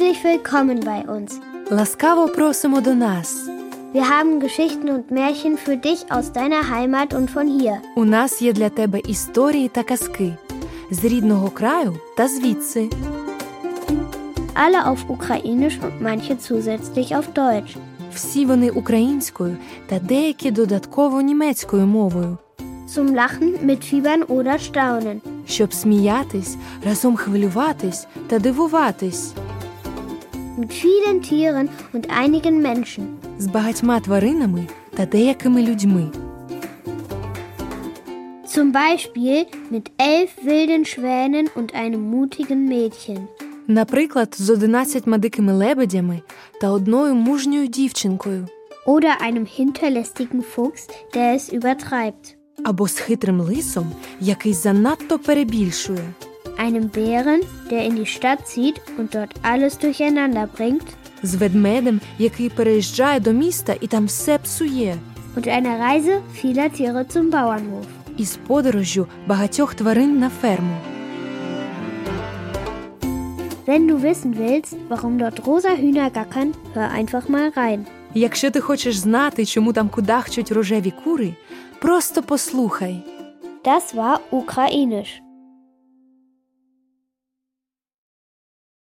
Herzlich willkommen bei uns. Ласкаво просимо до нас. Wir haben Geschichten und Märchen für dich aus deiner Heimat und von hier. У нас є для тебе історії та казки з рідного краю та звідси. Alle auf Ukrainisch und manche zusätzlich auf Deutsch. Всі вони українською та деякі додатково німецькою мовою. Zum Lachen, mitfiebern oder staunen. Щоб сміятись, разом хвилюватись та дивуватись. Mit vielen Tieren und einigen Menschen. З багатьма тваринами та деякими людьми. Zum Beispiel mit 11 wilden Schwänen und einem mutigen Mädchen. Наприклад, з 11 дикими лебедями та одною мужньою дівчинкою. Oder einem hinterlistigen Fuchs, der es übertreibt. Або з хитрим лисом, який занадто перебільшує. Einem Bären, der in die Stadt zieht und dort alles durcheinander bringt. З ведмедем, який переїжджає до міста і там все псує. Und einer Reise vieler Tiere zum Bauernhof. І з подорожжю багатьох тварин на ферму. Wenn du wissen willst, warum dort rosa Hühner gackern, hör einfach mal rein. Якщо ти хочеш знати, чому там кудахчуть рожеві кури, просто послухай. Das war Ukrainisch.